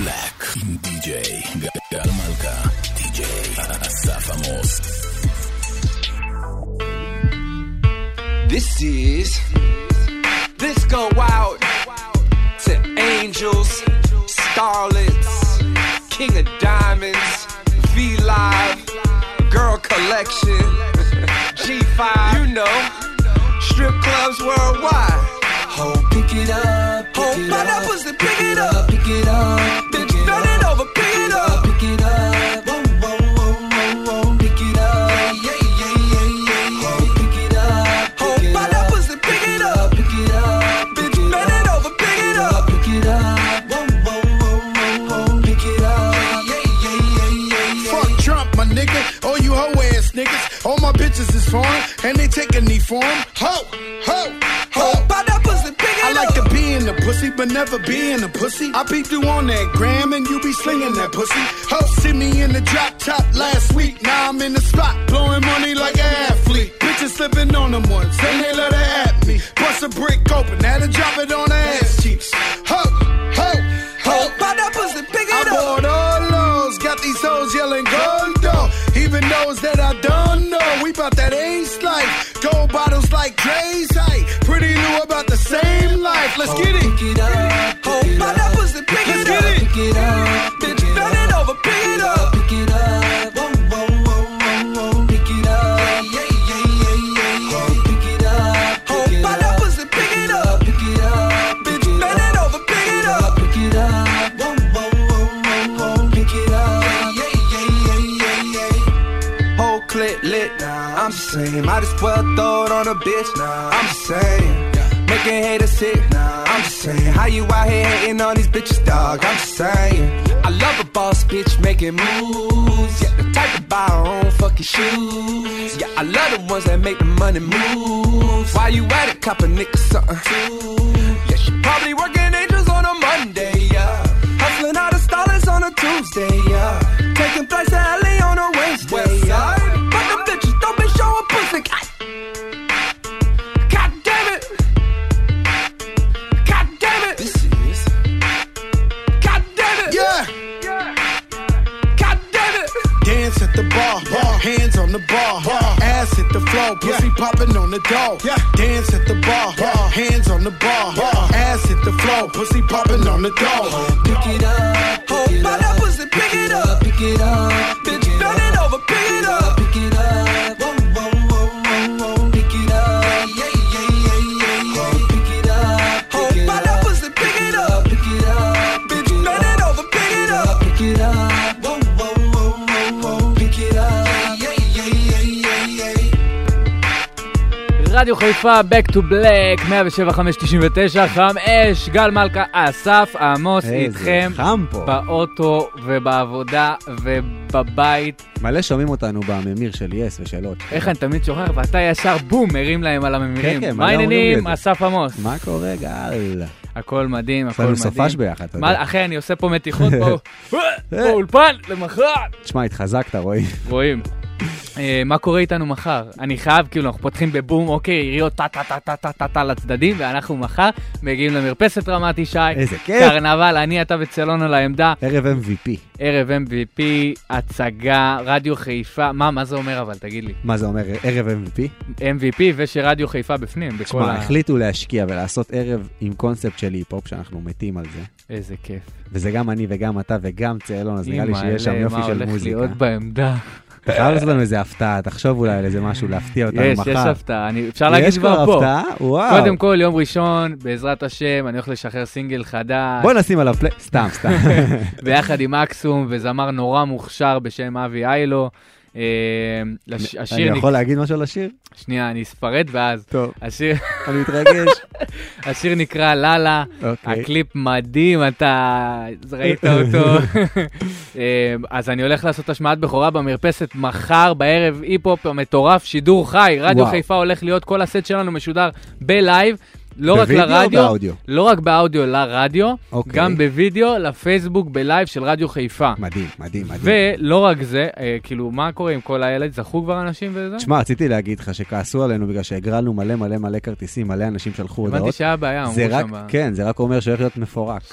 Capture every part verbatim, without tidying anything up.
Black עם די-ג'יי גל מלכה, די-ג'יי אסף עמוס. This is This go out to angels, starlets, king of diamonds, V-Live, girl collection, G five, you know, strip clubs worldwide. Ho, pick it up, pick Ho, it buy that up, pussy, pick it up, pick it up, bitch, bend it over, pick it up, pick it up, whoa, whoa, whoa, whoa, whoa, pick it up, yeah, yeah, yeah, yeah, ho, pick it up, Ho, buy that pussy, pick it up, pick it up, bitch, bend it over, pick it up, pick it up, whoa, whoa, whoa, whoa, whoa, pick it up, yeah, yeah, yeah, yeah, yeah. Fuck Trump, my nigga, all you hoe ass niggas, all my bitches is foreign, and they take a knee for 'em. Ho, ho, ho. buy that pussy, pick it I up. like to be in the pussy, but never be in the pussy. I peep you on that gram and you be slinging that pussy. Ho, see me in the drop top last week. Now I'm in the spot, blowing money like an athlete. Bitches slipping on them ones, then they let her at me. Bust a brick open, had to drop it on her ass cheeks. Ho, ho, ho. Buy that pussy, pick it I up. bought all those, got these hoes yelling gold though. Even those that I don't know, we bout that ace life. Gold bottles like Dre's height. Pretty new about the same life. Let's get it. Pick it up, Ho, buy that pussy, pick Let's it get up. it. pick it up, Bitch, bend it over, pick it up. pick it up, whoa, whoa, whoa, whoa, whoa, pick it up, yeah, yeah, yeah, yeah, yeah, pick it up, Ho, pick it buy that up, pussy, pick it up. pick it up, Bitch, bend it over, pick it up. pick it up, whoa, whoa, whoa, whoa, whoa, pick it up, yeah, yeah, yeah, yeah, yeah. Whole clip lit, I'm just saying. Might as well throw it on a bitch, I'm just saying. Making haters sick, I'm just saying. How you out here hating on these bitches, dog? I'm just saying. I love a boss bitch making moves. Yeah, the type to buy her own fucking shoes. Yeah, I love the ones that make the money move. Why you at it, cop a nigga something too? Yeah, she probably working angels on a Monday, yeah. Hustling out the stylist on a Tuesday, yeah. Taking flights to L A on a Wednesday, yeah. But them bitches don't be showing pussy. God damn it. God damn it. This is. God damn it. Yeah. God damn it. Dance at the bar, bar. Hands on the bar, bar. Ass hit the floor, pussy popping on the door. Yeah. Dance at the bar, bar. Hands on the bar, bar. Ass hit the floor, pussy popping on the door. Pick it up, Ho, buy that pussy, pick it up. pick it up, Bitch, bend it over, pick it up. pick it up, whoa, whoa, whoa, whoa, whoa, pick it up, yeah, yeah, yeah, yeah, yeah, pick it up, Ho, pick it buy up, that pussy, pick it up. pick it up, Bitch, bend it over, pick it up. pick it up, whoa, whoa, whoa, whoa, whoa, pick it up, yeah, yeah, yeah, yeah, yeah. רדיו חיפה, Back to Black, מאה שבע חמש תשעים ותשע, חם אש, גל מלכה, אסף עמוס איתכם חם פה. באוטו ובעבודה ובבית. מלא שומעים אותנו בממיר של יס ושאלות. איך אני תמיד שוכח, ואתה ישר בום, מרים להם על הממירים. כן, כן, מה מלא אומרים לי העניינים, את זה. אסף עמוס? מה קורה, גל? הכל מדהים, הכל עשינו מדהים. סופש ביחד, אתה יודע. מה, אחי, אני עושה פה מתיחות פה, באולפן, למחר. תשמע, התחזקת, רואים. רואים. אה, מה קורה איתנו מחר? אני חייב, כאילו, אנחנו פותחים בבום, אוקיי, יריות טה טה טה טה טה טה טה לצדדים, ואנחנו מחר מגיעים למרפסת רמת ישי. איזה כיף. קרנבל, אני, אתה וצלון על העמדה. ערב אם וי פי. ערב אם וי פי, הצגה, רדיו חיפה. מה, מה זה אומר אבל, תגיד לי? מה זה אומר, ערב אם וי פי? אם וי פי ושרדיו חיפה בפנים. בכל תשמע, ה... החליטו להשקיע ולעשות ערב עם קונספט של היפ-הופ, שאנחנו מתים על זה. איזה כיף. וזה גם אני וגם אתה וגם צלון, אז נראה לי שיש שם יופי של מה הולך מוזיקה. להיות בעמדה? אתה חייב לעשות לנו איזה הפתעה, תחשוב אולי על איזה משהו, להפתיע אותנו יש, מחר. יש הפתעה. אני- אפשר להגיד יש כבר כבר פה. הפתעה? וואו. קודם כל, יום ראשון, בעזרת השם, אני הולך לשחרר סינגל חדש. בוא נשים עליו פליי, סתם, סתם. ביחד עם אקסום וזמר נורא מוכשר בשם אבי איילו. אה, לש- השיר אני נק- יכול להגיד משהו על השיר? שנייה, אני אספרד ואז. טוב, השיר- אני מתרגש. השיר נקרא ללה, אוקיי. הקליפ מדהים, אתה ראית אותו. אה, אז אני הולך לעשות השמעת בכורה במרפסת מחר בערב, היפ-הופ מטורף, שידור חי, רדיו וואו. חיפה הולך להיות, כל הסט שלנו משודר בלייב, לא רק בווידאו או לרדיו, באודיו? לא רק באודיו לרדיו, אוקיי. גם בווידאו, לפייסבוק, בלייב של רדיו חיפה. מדהים, מדהים, מדהים. ולא רק זה, אה, כאילו, מה קורה עם כל הילד? זכו כבר אנשים וזה? תשמע, רציתי להגיד לך שכעסו עלינו בגלל שהגרלנו מלא מלא מלא כרטיסים, מלא אנשים שלחו הבנתי הודעות. שהיה בעיה, אמרו זה רק, שם. ב- כן, זה רק אומר שהולך להיות מפורק.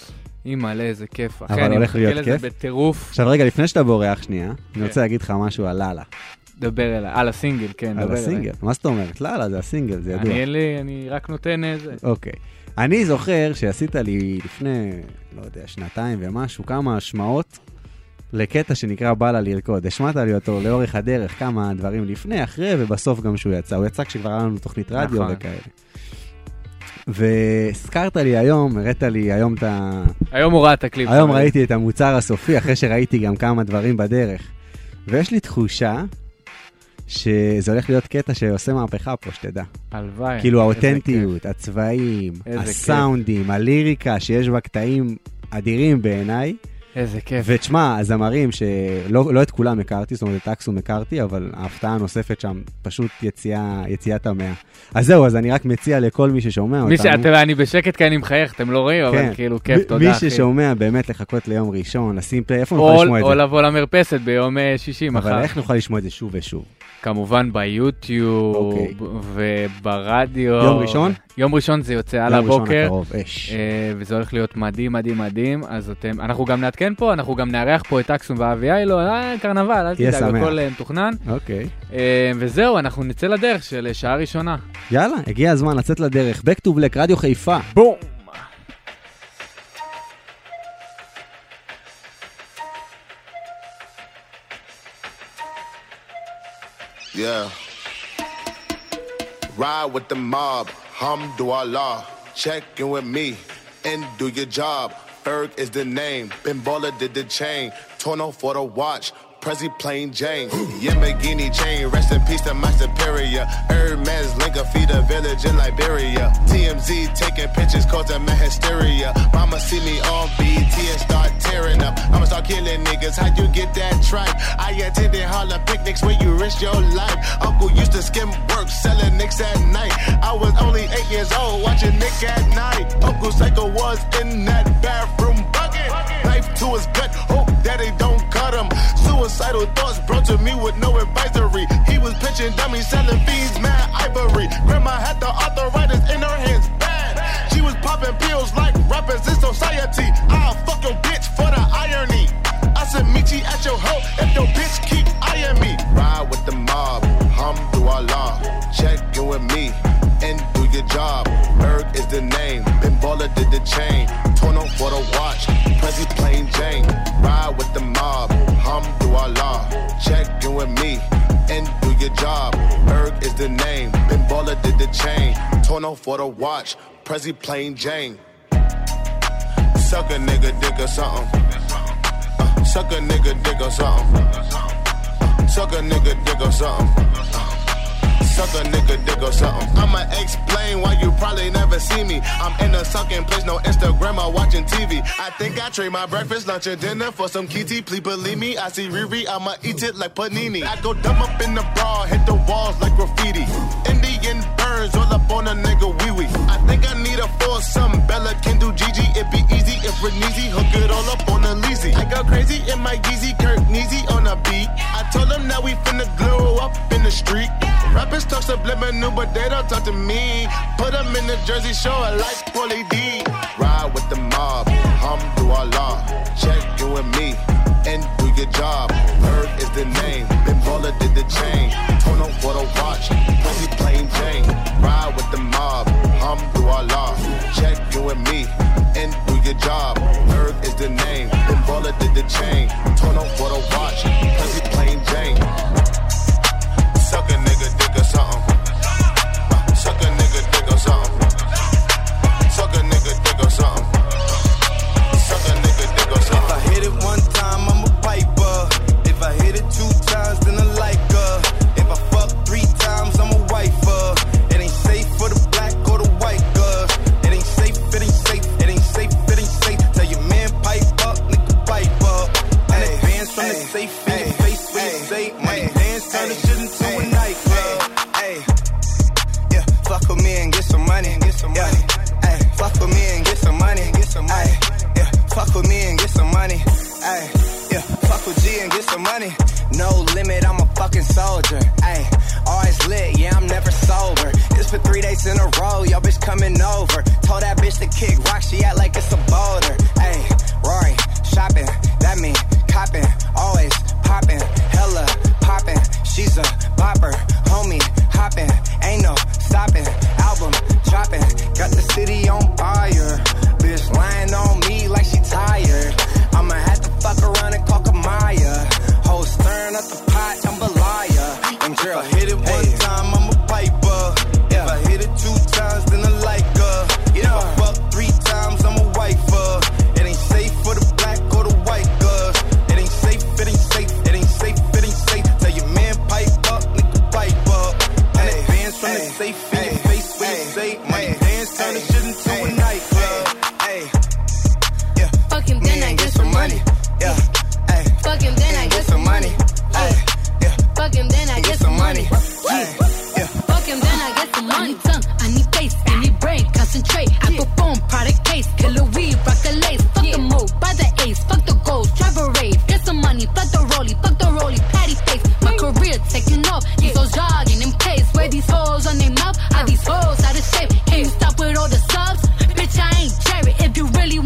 אימא'לה, איזה כיף. אחי, אבל אני הולך מחכה להיות לזה כיף. בטירוף. עכשיו רגע, לפני שאתה בורח שנייה, אני רוצה להגיד לך משהו על לאללה. דבר אליי. על הסינגל, כן, דבר על אליי. הסינגל. מה זאת אומרת? לאללה, זה הסינגל, זה ידוע. אני אין לי, אני רק נותן איזה. אוקיי. אני זוכר שעשית לי לפני, לא יודע, שנתיים ומשהו, כמה השמעות לקטע שנקרא בא לה לרקוד. השמעת לי אותו לאורך הדרך, כמה דברים לפני, אחרי, ובסוף גם שהוא יצא. הוא יצא כשכבר היה לנו תוכנית רדיו נכון. וכאלה. והזכרת לי היום, הראת לי היום את ה... היום הוא ראה את הקליפ. היום ראיתי את המוצר הסופי, אחרי שראיתי גם כמה דברים בדרך. ויש לי תחושה שזה הולך להיות קטע שעושה מהפכה פה, שתדע. הלוואי. כאילו האותנטיות, הצבעים, הסאונדים, הליריקה שיש בה קטעים אדירים בעיניי. איזה כיף. ותשמע, הזמרים שלא לא את כולם הכרתי, זאת אומרת את אקסום הכרתי, אבל ההפתעה הנוספת שם פשוט יציאה, יציאת המאה. אז זהו, אז אני רק מציע לכל מי ששומע מי אותנו. שאתם, אני בשקט כי אני מחייך, אתם לא רואים, אבל כאילו כיף, תודה אחי. מי ששומע באמת לחכות ליום ראשון, לשים פלי, איפה נוכל לשמוע את זה? או לבוא למרפסת ביום שישי מחר. אבל איך נוכל לשמוע את זה שוב ושוב? כמובן ביוטיוב וברדיו. יום ראשון? יום ראשון זה יוצא על הבוקר. יום ראשון הקרוב, אש. וזה הולך להיות מדהים, מדהים, מדהים. אז אתם, אנחנו גם נעדכן פה, אנחנו גם נארח פה את אקסום ואבי איילו, אה, קרנבל, אל תדאג, הכל מתוכנן. אוקיי. וזהו, אנחנו נצא לדרך של שעה ראשונה. יאללה, הגיע הזמן לצאת לדרך. Back to Black, רדיו חיפה. בום! Yeah. Ride with the mob, Hamdulillah. Check in with me and do your job. Ferg is the name. Ben Baller did the chain. Torno for the watch. Prezi plain Jane. Yamagini chain. Rest in peace to my superior. Hermes Linka feed a village in Liberia. T M Z taking pictures causing my hysteria. Mama see me on B T and start tearing up. I'ma start killing niggas. How you get that tripe? I attended Harlem picnics where you risk your life. Uncle used to skim work selling nicks at night. I was only eight years old watching Nick at night. Uncle Psycho was in that bathroom bucket. Knife to his gut. Hope that they don't cut him. Suicidal thoughts brought to me with no advisory. He was pitching dummies, selling fiends, mad ivory. Grandma had the arthritis in her hands, bad. She was popping pills like rappers in society. I'll fuck your bitch for the irony. I said meet you at your hoe if your bitch keep eyeing me. Ride with the mob, Hamdulillah. Check in with me and do your job. Berg is the name. Ben Baller did the chain. Torno for the watch. Prezi plain Jane. Ride with the mob. Hamdulillah. Check in with me and do your job. Berg is the name. Ben Baller did the chain. Torno for the watch. Prezi plain Jane. Suck a nigga dick or something. Uh, suck a nigga dick or something. Uh, suck a nigga dick or something. Suck a nigga dick or something. I'ma explain why you probably never see me. I'm in a sunken place, no Instagram or watching T V. I think I trade my breakfast, lunch, and dinner for some kitty. Please believe me, I see Riri, I'ma eat it like panini. I go dumb up in the bra, hit the walls like graffiti. Indian birds all up on a nigga wee wee. I think I need a foursome. Bella can do Gigi, it be easy if we're easy. Hook it all up on a leasy. I go crazy in my Yeezy, Kirk Neezy on a beat. I told them now we finna glow up in the street. Rappers talk subliminal, but they don't talk to me. Put them in the Jersey Shore like Paulie D. Ride with the mob, Hamdulillah. Check in with me and do your job. Berg is the name. Ben Baller did the chain. Torno for the watch. Prezi plain Jane. Ride with the mob, Hamdulillah. Check in with me and do your job. Berg is the name. Ben Baller did the chain. Torno for the watch. Prezi plain Jane. Suck a nigga dick or something. Uh, suck a nigga dick or something. Suck a nigga dick or something. Suck a nigga dick or something. If I hit it one time, I'm a piper. If I hit it two times, then I like her. If I fuck three times, I'm a wifer. It ain't safe for the black or the white girl. It ain't safe, it ain't safe, it ain't safe, it ain't safe. Tell your man pipe up, nigga pipe up. And advance from the safe in your face when you say money dance, turn the shit into a nightclub. Yeah, fuck with me and get some money. Get some money. Ay, fuck with me and get some money. Get some money. Yeah, fuck with me and get some money. Ay, yeah, fuck with G and get some money. No limit, I'm a fucking soldier. Ay, always lit, yeah, I'm never sober. It's for three days in a row, yo bitch coming over. Told that bitch to kick rock, she act like it's a boulder. Ay.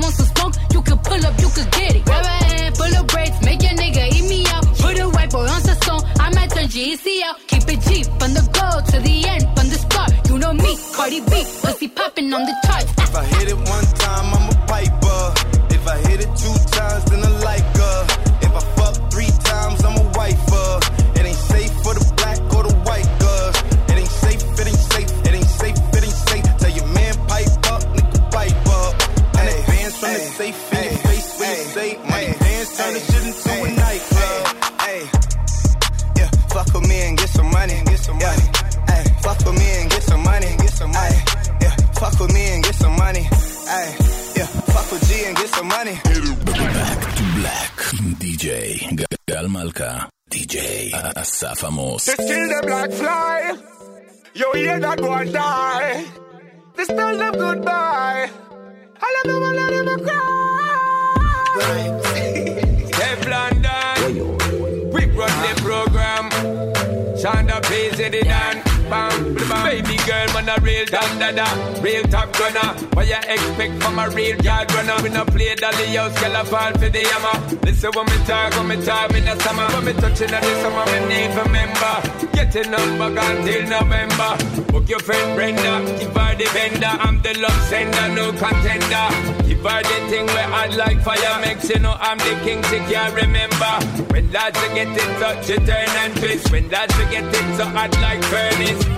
want some smoke, you can pull up, you can get it. Grab a hand full of braids, make your nigga eat me out. Put a white boy on the song, I might turn G E C out. Keep it cheap, from the go to the end, from the start. You know me, Cardi B, pussy popping on the charts. If I hit it one time, I'm a piper. If I hit it two times, then I like her. If I fuck three times, I'm a wifer. It ain't safe for the black or the white girls. It ain't safe, it ain't safe, it ain't safe, it ain't safe. Tell your man pipe up, nigga pipe up. And the bands from the safe in your face when you say money dance, turn the shit into a nightclub. Hey, yeah, fuck with me and get some money, get some money. Hey, fuck with me and get some money, get some money. Yeah, fuck with me and get some money. Hey, yeah, fuck with G and get some money. Back to Black עם די-ג'יי גל מלכה, די-ג'יי אסף עמוס. They still the black fly. You hear that one die. They still them goodbye. I love them, I let them cry. Teflon Dan, we run the program. Shonda plays it in. Bam, bam. Baby girl, man, a real da-da-da, real top gunner. What you expect from a real yard runner? We no play dolly house, girl, I fall for the hammer. Listen when me talk, when me talk in the summer. When me touching on the summer, me need a member. Get a number until November. Book your friend Brenda, give her the vendor. I'm the love sender, no contender. Give her the thing where I like fire. Makes you know I'm the king, she can't remember. When lads we get it so she turn and twist. When lads we get it so hot like furnace. I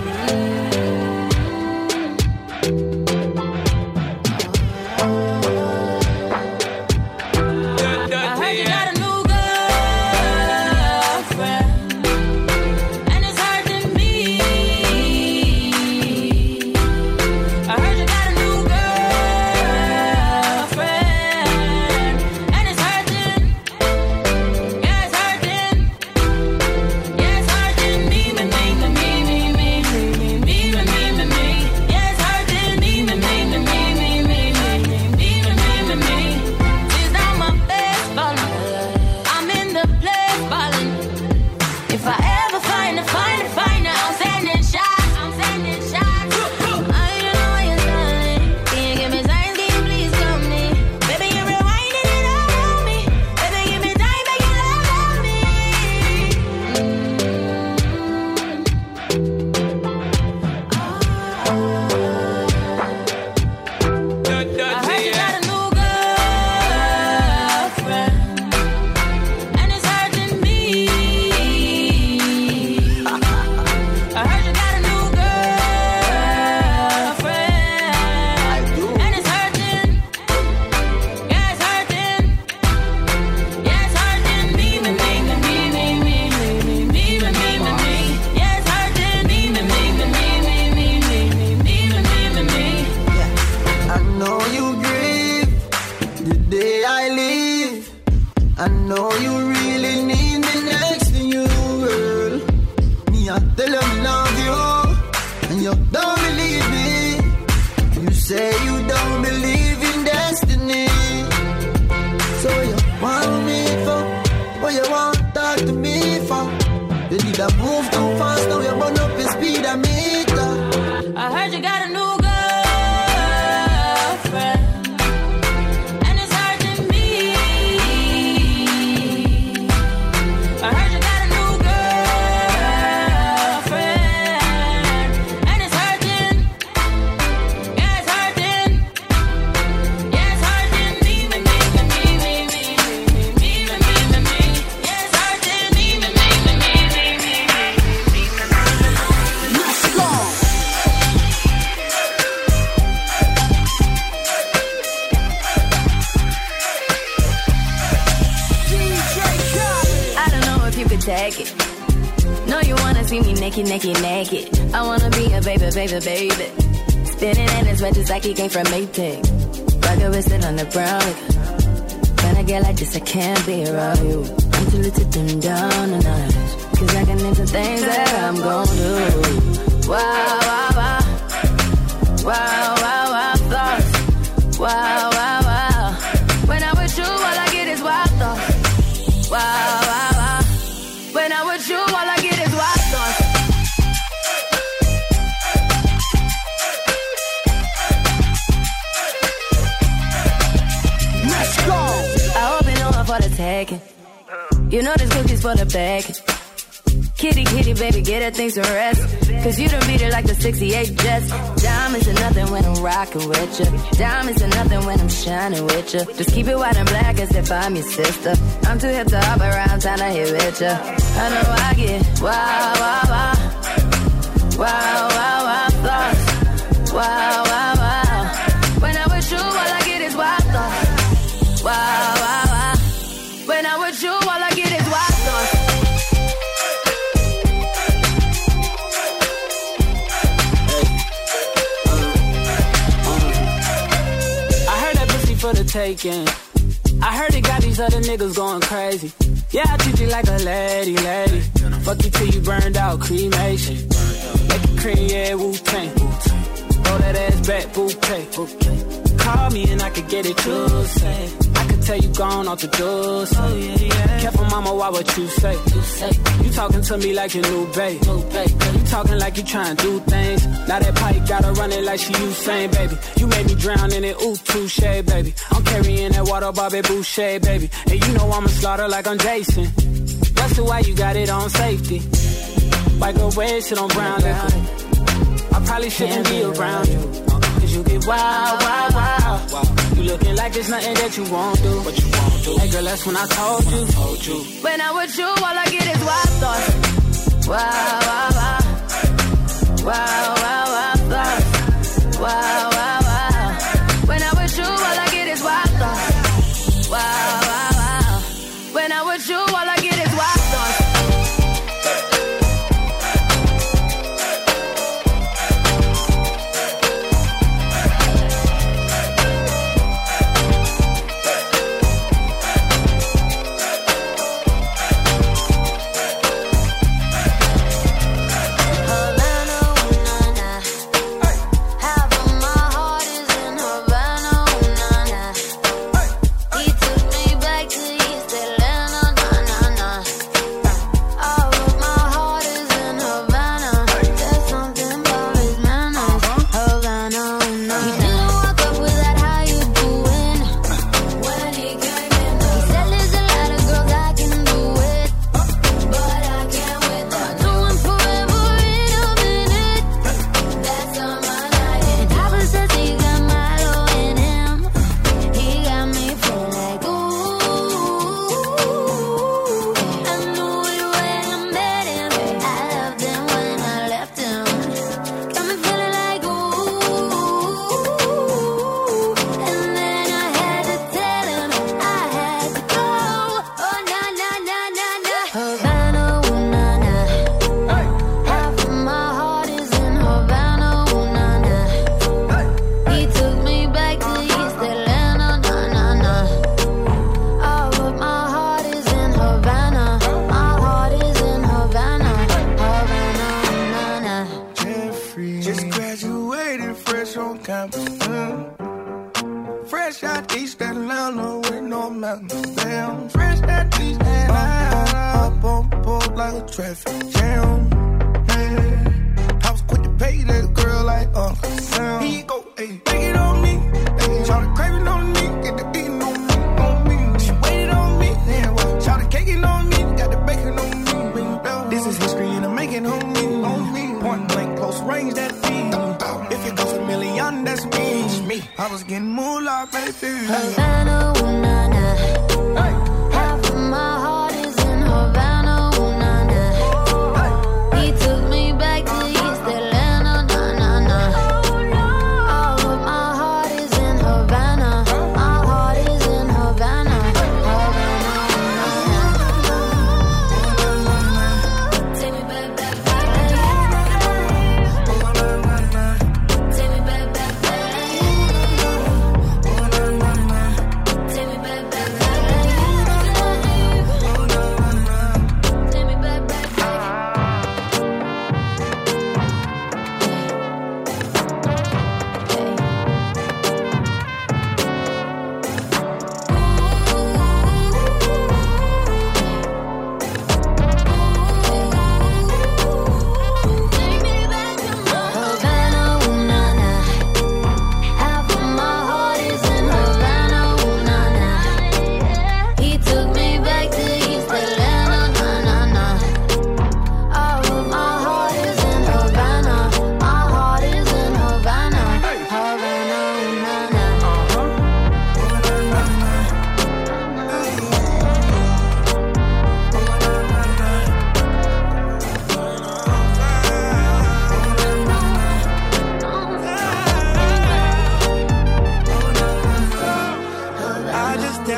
heard you got a new girlfriend, and it's hurting me. I heard you got a new girlfriend, and it's hurting. Yeah, it's hurting. Yeah, it's hurting me, me, me, me, me, me, me, me, me, me, me, me. Yeah, it's hurting me, me, me, me, me, me, me, me, me, me, me, me. She's on my best ballin'. I'm in the place ballin'. If I ever find her, find her, find her, I'm sending shots. I'm sending shots. I don't know what you're telling. Can you give me time? Can you please come me? Baby, you're rewinding it all on me. Baby, give me time, make you love on me. I heard you got a new girlfriend, and it's hurting me. I heard you got a new girlfriend, and it's hurting. Yeah, it's hurting. Yeah, it's hurting me, me, me, me, me, me, me, me, me, me, me, me, me. Yeah, it's hurting me, me, me, me, me, me, me, me, me, me, me, me. I know you grieve the day I leave. I know you really need me next to you, girl. Me, I tell you I love you, and you don't believe me. You say you don't believe in destiny. So you want me for what you want talk to me for? You did a move too fast, now you burn up your speedometer. I heard you got a new girlfriend, and it's hurting me. I heard you got a new girlfriend, and it's hurting. Yeah, it's hurting. Yeah, it's hurting me, me, me, me, me, me, me, me, me, me, me, me. Yeah, it's hurting me, me, me, me, me, me, me, me, me. Let's go. I don't know if you could take it. No, you wanna see me naked, naked, naked. I wanna be a baby, baby, baby. Spinning in his red just like he came from Maytag. Rocket with it on the brown liquor. When I get like this, I can't be around you. I'm too little to dim down a notch. Cause I can into things that I'm gon' do. Wow, wow, wow. Wow, wow, wow, thoughts. Wow, wow, wow. When I'm with you, all I get is wild thoughts. Wow, wow, wow. When I'm with you, all I get is wild thoughts. Let's go. I hope you know I'm for the taking. You know this cookie's for the bag. Kitty, kitty, baby, get her things to rest. Cause you done beat it like the sixty-eight Jets. Diamonds are nothing when I'm rocking with you. Diamonds are nothing when I'm shining with you. Just keep it white and black as if I'm your sister. I'm too hip to hop around, time to hit with you. I know I get wow, wow, wow. Wow, wow, wow, thoughts. Wow, wow, wow. When I'm with you, all I get is wild thoughts. Wow, wow, wow. When I'm with you, all I get is wild thoughts. For the taking. I heard it got these other niggas going crazy. Yeah, I treat you like a lady, lady. Fuck you till you burned out, cremation. Make it cream, yeah, Wu-Tang. Throw that ass back, bouquet. Call me and I could get it, you say. I could tell you gone off the doors. Oh, yeah, yeah. Careful, mama, why what you say? You say you talking to me like your new babe. New babe. You talking like you trying to do things. Now that pipe gotta run it like she Usain, baby. You made me drown in it, ooh, touche, baby. I'm carrying that water, Bobby Boucher, baby. And you know I'ma slaughter like I'm Jason. That's why you got it on safety. White girl, red shit on brown liquor. I probably shouldn't be around you. Cause you get wild, wild, wild. You looking like there's nothing that you won't do. What you won't do. Hey girl, that's when I told you. Told you. When I'm with you, all I get is wild thoughts. Wow, wow, wow. Wow, wow, wow, thoughts. Wow, wow, wow. When I'm with you, all I get is wild thoughts. Wow, wow, wow. When I'm with you, all I get is wild thoughts.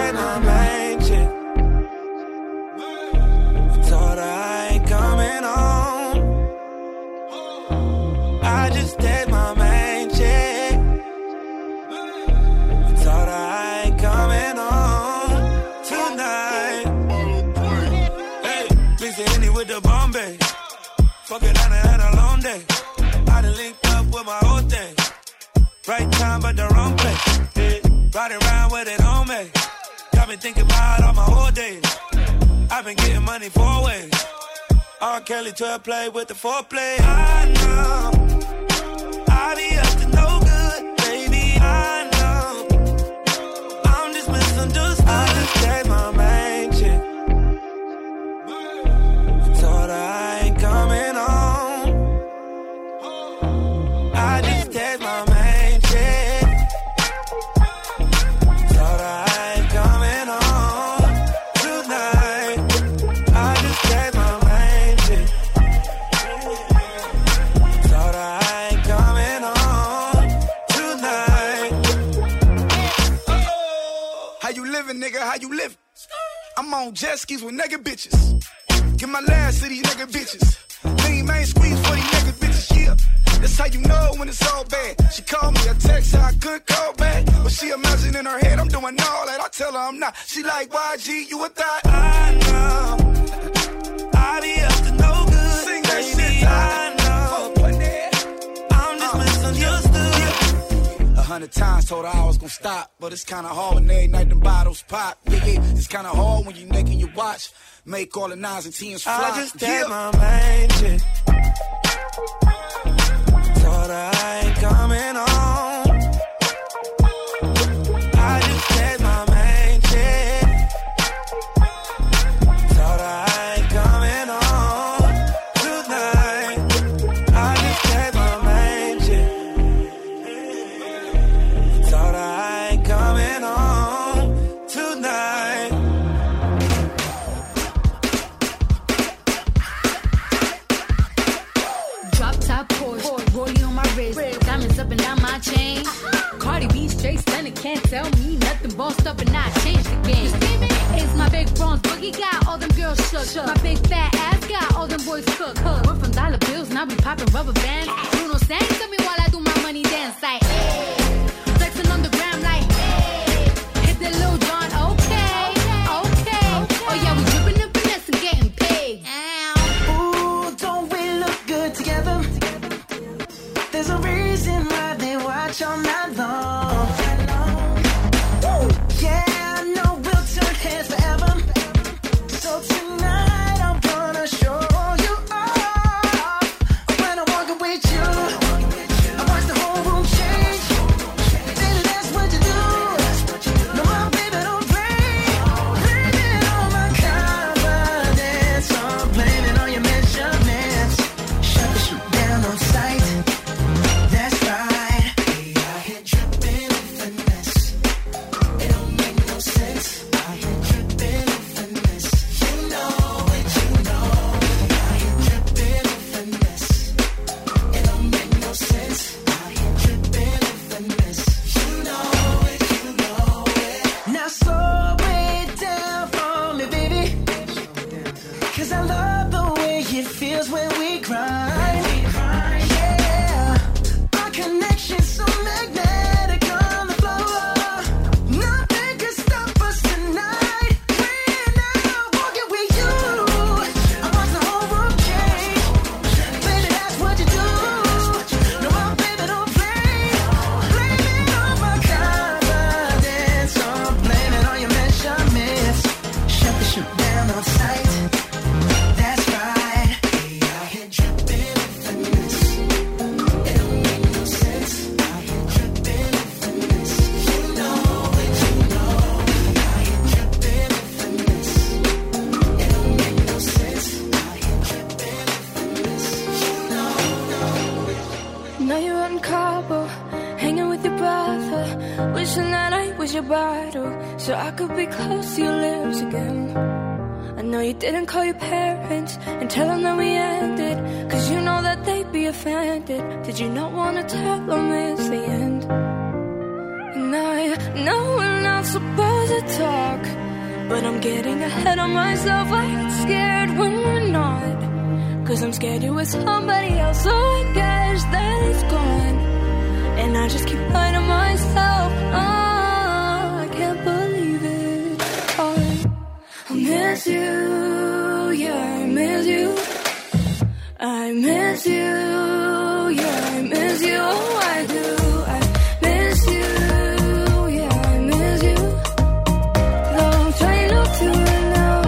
had my main chick. Told her I ain't coming home. I just had my main chick. Told her I ain't coming home tonight. Hey, mix the Henny with the Bombay. Fuck it, I done had a long day. I done linked up with my whole thing. Right time, but the wrong place. Yeah. Riding around with it on me. Got me thinking about all my whole days. I've been getting money four ways. R. Kelly twelve play with the foreplay. I know I be up to no good, baby. I know I'm just misunderstood. I just had my main chick. Told her I ain't coming home. I just had my main chick. Told her I ain't coming home tonight. I just had my main chick. Told her I ain't coming home tonight. How you living, nigga? How you living? I'm on jet skis with nigga bitches. Get my last to these nigga bitches. Lean main squeeze for these nigga bitches, yeah. That's how you know when it's all bad. She called me a text, how I could call back. But she imagine in her head I'm doing all that. I tell her I'm not. She like, Y G, you a thought? I know I be up to no good. Sing that baby, shit, I know I'm just uh, misunderstood. Yeah. A hundred times told her I was gonna stop, but it's kinda hard when every night them bottles pop. Yeah, yeah, it's kinda hard when you naked your watch. Make all the nines and tens fly. I just yeah. had my main chick. Told her I ain't coming home. I just had my main chick. Told her I ain't coming home tonight. I just had my main chick. Told her I ain't coming home tonight. Drop top Porsche, rollie on my wrist, diamonds up and down my chain. Cardi B straight stunning, can't tell me nothing. Bossed up and I changed the game. It's my big bronze boogie got all them girls shook. My big fat ass got all them boys cooked. We're from dollar bills, now we popping rubber bands. Bruno sang to me while I do my money dance like, hey. Flexing on the gram like, hey. Hit the Lil Jon, okay, okay. Oh yeah, we dripping and finesse and getting paid. Ooh, don't we look good together? There's a reason why they watch all night long. Woo! Yeah, I know we'll turn heads forever. So tonight I'm gonna show you off. When I'm walking with you, I watch the whole room change. Baby, that's what you do. No, my baby don't play. Blame it on my confidence. I'm blaming on your measurements. Shut the shit down on sight. That's right. Hey, I hit dripping in finesse. It don't make no sense. I hit dripping in finesse. You know it, you know it. I hit dripping in finesse. It don't make no sense. I hit dripping in finesse. You know it, you know it. Now slow it down for me, baby. Cause I love the way it feels when we grind. Yeah, our connection's so magnetic on the floor. Nothing can stop us tonight. When I'm walking with you, I watch the whole room change. Baby, that's what you do. No, my baby don't play. Blame it on my confidence. I'm blaming on your measurements. Shut the shit down on sight. That's right. Hey, I hit dripping in finesse. It don't make no sense. I hit dripping in finesse. You know it, you know it. I hit dripping in finesse. It don't make no sense. I hit dripping in finesse. You know it. Now you're out in Cabo, hanging with your brother. Wishing that I was your bottle, so I could be close to your lips again. I know you didn't call your parents and tell them that we ended, cause you know that they'd be offended. Did you not wanna tell them it's the end? And I know we're not supposed to talk, but I'm getting ahead of myself. I get scared when we're not, cause I'm scared you're with somebody else. So I guess that it's gone, and I just keep lying to myself. Oh, I can't believe it. Oh, I miss you, yeah, I miss you. I miss you, yeah, I miss you. Oh, I do. I miss you, yeah, I miss you. Though I'm trying not to right now.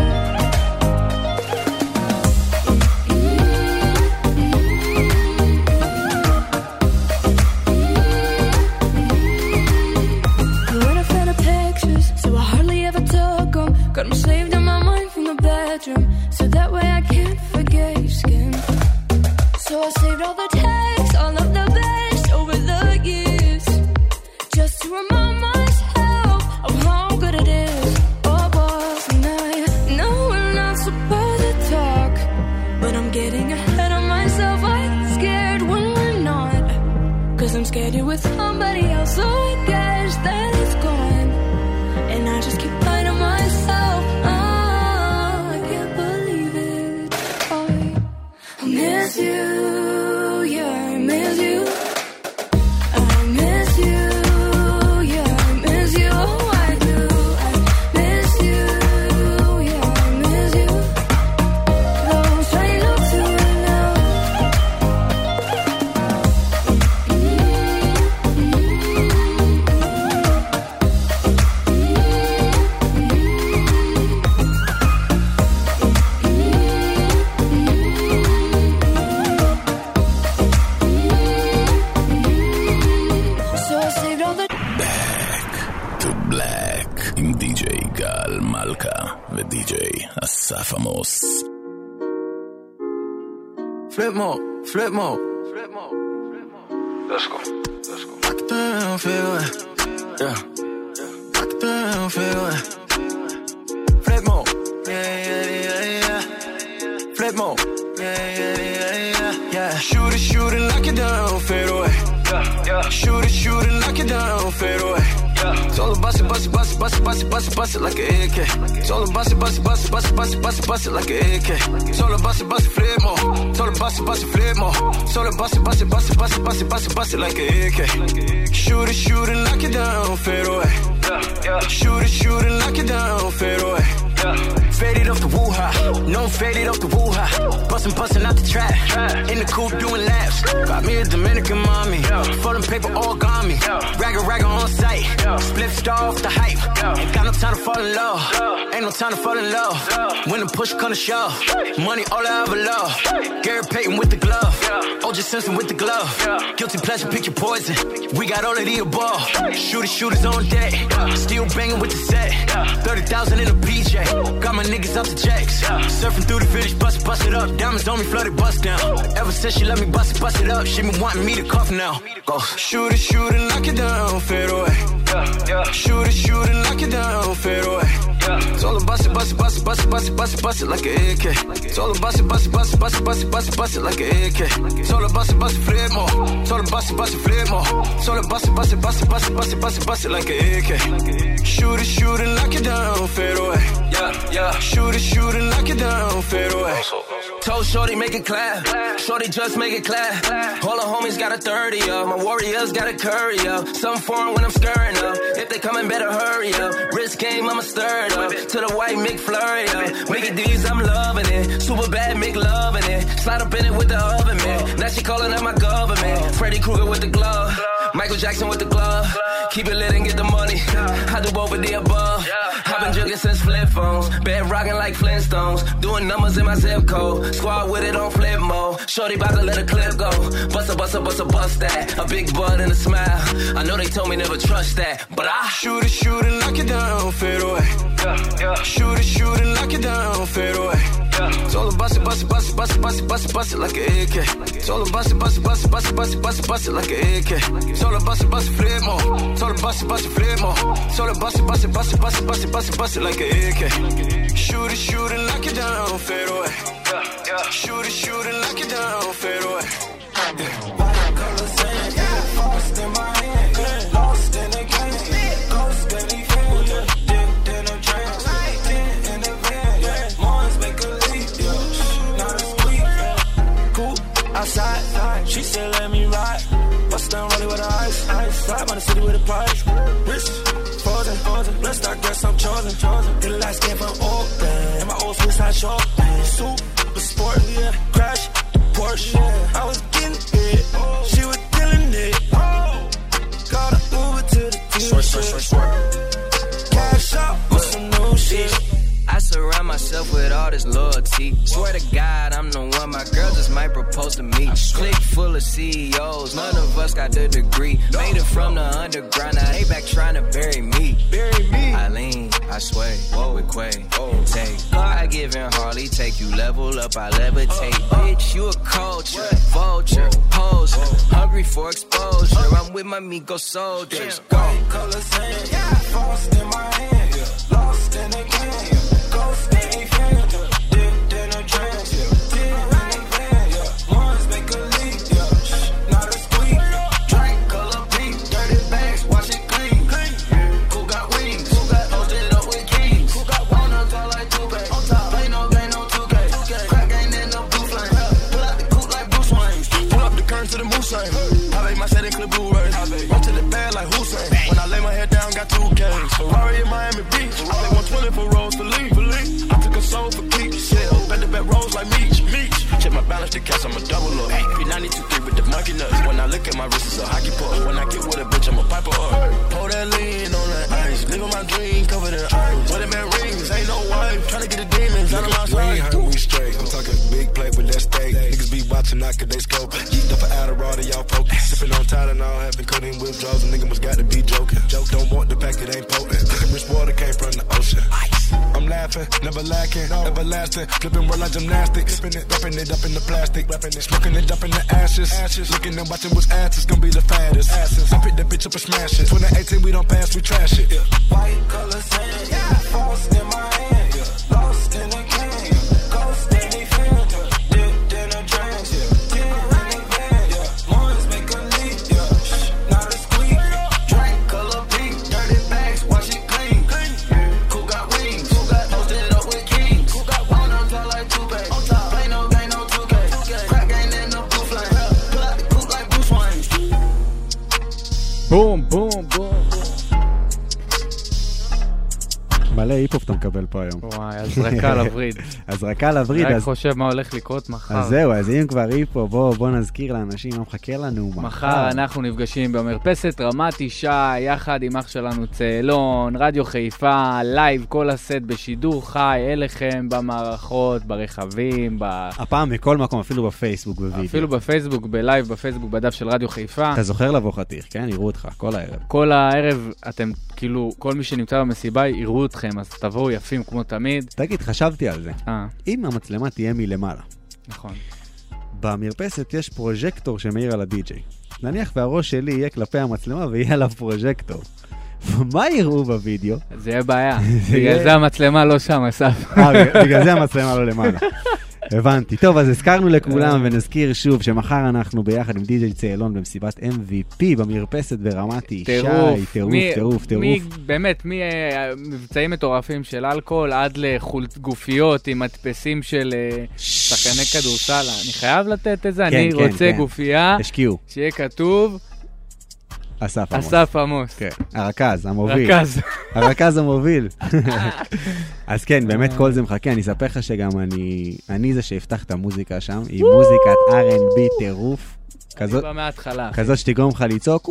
You weren't a fan of pictures, so I hardly ever took them. Got them saved in my mind from the bedroom, so that way I can't forget your skin. So I saved all the texts, all of the best over the years, just to remind myself of how good it is. Oh, boss, and I know we're not supposed to talk, but I'm getting ahead of myself. I get scared when we're not, cause I'm scared you're with somebody else. So I guess that it's gone, and I just keep lying to myself. Oh, I can't believe it. Oh, I miss you. אסף עמוס. Flip mode, flip mode, flip mode. Let's go, let's go. I can feel it, yeah. I can feel it. Flip mode, yeah, yeah, yeah, yeah. Flip mode, yeah, yeah, yeah, yeah, yeah. Shoot it, shoot it, knock it down, fade away. Yeah, yeah. Shoot it, shoot it, knock it down, fade away. It's all about it, bust it, bust it, bust it, bust it, bust it, bust it like an A K. It's all about it, bust it, bust it, bust it, bust it, bust it, bust it like an A K. It's all about it, bust it, flip more. It's all about it, bust it, flip more. It's all about it, bust it, bust it, bust it, bust it, bust it, bust it like an A K. Shoot it, shoot it, knock it down, fade away. Shoot it, shoot it, knock it down, fade away. Faded off the woo-ha, no faded off the woo-ha. Bustin', bustin' out the trap, in the coupe doing laps. Got me a Dominican mommy, folding paper all got me. Ragga, ragga on sight, split star off the hype. Ain't got no time to fall in love, ain't no time to fall in love. When the push come to shove, money all I ever love. Gary Payton with the glove, O J Simpson with the glove. Guilty pleasure, pick your poison, we got all of the above. Shooters, shooters on deck, still banging with the set. thirty thousand in a P J, got my niggas out the jacks. Surfing through the village, bust it, bust it up. Diamonds on me, flooded, bust down. Ever since she let me bust it, bust it up, she been wanting me to cough now. Go. Shoot it, shoot it, knock it down, fade away. Shoot it, shoot it, knock it down, fade away. It's all about it, bust it, bust it, bust it, bust it, bust it, bust it like an A K. It's all about it, bust it, bust it, bust it, bust it, bust it, bust it like an A K. It's all about it, bust it, flip more. It's all about it, bust it, flip more. It's all about it, bust it, bust it, bust it, bust it, bust it, bust it like an A K. Shoot it, shoot it, knock it down, fade away. Yeah, yeah. Shoot it, shoot it, knock it down, fade away. Told Shorty make it clap, Shorty just make it clap. All the homies got a thirty up, my warriors got a curry up. Something foreign when I'm stirring up, if they coming better hurry up. Wrist game, I'ma stir it up, to the white McFlurry up. Mickey D's, I'm loving it, super bad Mick loving it. Slide up in it with the oven, man, now she calling out my government. Freddy Krueger with the glove, Michael Jackson with the glove. Keep it lit and get the money, I do both of the above. I've been jugging since flip phones, bed rocking like Flintstones. Doing numbers in my zip code, squad with it on flip mode. Shorty bout to let a clip go, bust a bust a bust a bust that. A big butt and a smile, I know they told me never trust that, but I shoot it, shoot it, knock it down, fade away. Shoot it, shoot it, knock it down, fade away. It's all about it, bust it, bust it, bust it, bust it, bust it, bust it like an A K. It's all about it, bust it, bust it, bust it, bust it, bust it, bust it like an A K. It's all about it, bust it, flip more. It's all about it, bust it, flip more. It's all about it, bust it, bust it, bust it, bust it, bust it, bust it like an A K. Shoot it, shoot it, knock it down, fade away. Shoot it, shoot it, knock it down, fade away. Watercolor sand, lost in my hand, lost in the game, ghost steady fan. I stand for Oakland. And my old school side short. Super sport, yeah. Crash, Porsche. I was getting it. She was killing it. Got an Uber to the dealership. Cash out with some new shit. I surround myself with all this loyalty. Swear to God, I'm the one. My girl just might propose to me. Click full of C E Os. None of us got the degree. Made it from the underground. Now they back trying to bury me. Bury me. I lean, I sway. Whoa, with Quay. Take. I give in Harley. Take you level up. I levitate. Bitch, you a culture. Vulture. Poser. Hungry for exposure. I'm with my Migo soldiers. Go. Colors hand. Frost in my hand. Lost in the game. Ghost ain't fan. Dipped in a trance. Dip in a van. Ones make a leak. Not a squeak. Drink color beef. Dirty bags. Wash it clean. Who got wings? Who got posted up with kings? Who got one on top like two K? Play no game, no two K. Crack ain't in no blue flame. Pull out the coupe like Bruce Wayne. Pull up the curtain to the moose lane. I make my setting clip blue rays. Run to the bed like Hussein. When I lay my head down, got two K's. Ferrari in Miami Beach. I play one twenty for rolls to leave. I took a soul for keeps. Yeah, bet the bet rolls like Meech. Meech. Check my balance to catch, I'm a double up. P ninety-two three with the monkey nuts. When I look at my wrist, it's a hockey puck. When I get with a bitch, I'm a piper up. Pour that lean on that ice. Living my dream, covered in ice. Wedding man rings, ain't no wife. Tryna get the demons out of my sight. We heard we straight. I'm talking big plate with that steak. Niggas be watching, not cause they scope. Yeet up an Adderall to y'all folk. Sipping on Tylenol, having codeine withdrawals. A nigga must got to be joking. Joke don't want the pack, it ain't potent. Rich water came from the ocean. I'm laughing, never lacking, everlasting. Flipping world like gymnastics. Flipping it, wrapping it up in the plastic. Wrapping it, smoking it up in the ashes. ashes. Looking and watching what's ass is gonna be the fattest. Asses. I pick that bitch up and smash it. twenty eighteen, we don't pass, we trash it. Yeah. White colors hand, yeah. Frost in my hand, yeah. Lost in a can, ghost in a fan, dipped in a trance, yeah. Dip in a van, yeah. Ones make a leak, yeah. Not a squeak. Drink color pink, dirty bags, wash it clean. Who got wings? Who got posted up with kings? Who got one on top like two K? Play no game, no two K. Crack ain't in no blue flame. Pull out the coupe like Bruce Wayne. בום, בום, בום. מלא היפ-הופ אתה מקבל פה היום. וואי, הזרקה לווריד. הזרקה לווריד. רק חושב מה הולך לקרות מחר. אז זהו, אז אם כבר היפ-הופ, בוא, בוא נזכיר לאנשים מה מחכה לנו מחר. מחר אנחנו נפגשים במרפסת רמת ישי, יחד עם אח שלנו צהלון, רדיו חיפה, לייב, כל הסט בשידור חי, אליכם במערכות, ברכבים, ב... הפעם מכל מקום, אפילו בפייסבוק, בווידאו. אפילו בפייסבוק, בלייב, בפייסבוק, בדף של רדיו חיפה. אתה זוכר לבוא חתיך, כן? יראו אותך, כל הערב. כל הערב, אתם, כאילו, כל מי שנמצא במסיבה, יראו אתכם, אז תבואו יפים כמו תמיד. תגיד, חשבתי על זה. אה. אם המצלמה תהיה מלמעלה. נכון. במרפסת יש פרוז'קטור שמאיר על הדי-ג'יי. נניח והראש שלי יהיה כלפי המצלמה ויהיה עליו פרוז'קטור. מה יראו בווידאו? זה יהיה בעיה. בגלל זה המצלמה לא שם, אסף. בגלל זה המצלמה לא למעלה. הבנתי. טוב, אז הזכרנו לכולם ונזכיר שוב שמחר אנחנו ביחד עם די-ג'יי צהלון במסיבת אם וי פי במרפסת ברמת ישי. טירוף, טירוף, טירוף, טירוף. באמת, ממבצעים מטורפים של אלכוהול עד לגופיות עם מדפסים של שחקני כדורסל. אני חייב לתת את זה, אני רוצה גופייה שיהיה כתוב אסף עמוס. אסף עמוס. כן, הרכז, המוביל. רכז. הרכז המוביל. אז כן, באמת כל זה מחכה. אני אספר לך שגם אני, אני זה שהפתח את המוזיקה שם, עם מוזיקת אר אנד בי טירוף. כזאת, מההתחלה. כזאת שתגרום לך לצעוק,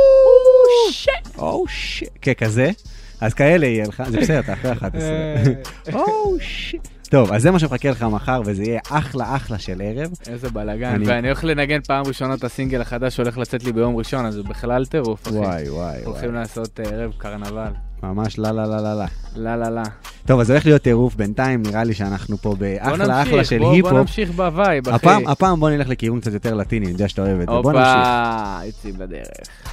או שיט. כן, כזה. אז כאלה יהיה לך, זה בסדר, אתה אחרי אחת עשרה. או שיט. טוב, אז זה מה שמחכה לך מחר, וזה יהיה אחלה אחלה של ערב. איזה בלגן, ואני הולך לנגן פעם ראשונה את הסינגל החדש שהולך לצאת לי ביום ראשון, אז זה בכלל טירוף, אחי. וואי, וואי. הולכים לעשות ערב קרנבל. ממש לא, לא, לא, לא, לא. לא, לא, לא. טוב, אז הולך להיות טירוף בינתיים, נראה לי שאנחנו פה באחלה אחלה של היפ-הופ. בוא נמשיך בווייב, אחי. הפעם, הפעם בוא נלך לכיוון קצת יותר לטיני, אני יודע שאתה אוהב את זה. בוא נמשיך. הופה, יוצאים בדרך.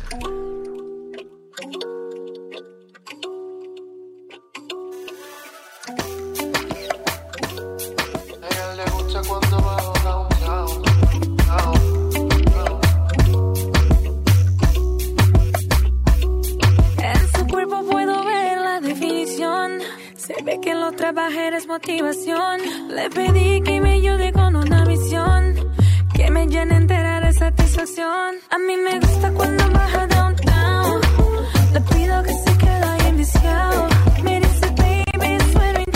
Se ve que lo trabajé es motivación. Le pedí que me ayude con una misión que me llene entera de satisfacción. A mí me gusta cuando baja downtown. Le pido que se quede ahí enviciado. Me dice baby, sueno y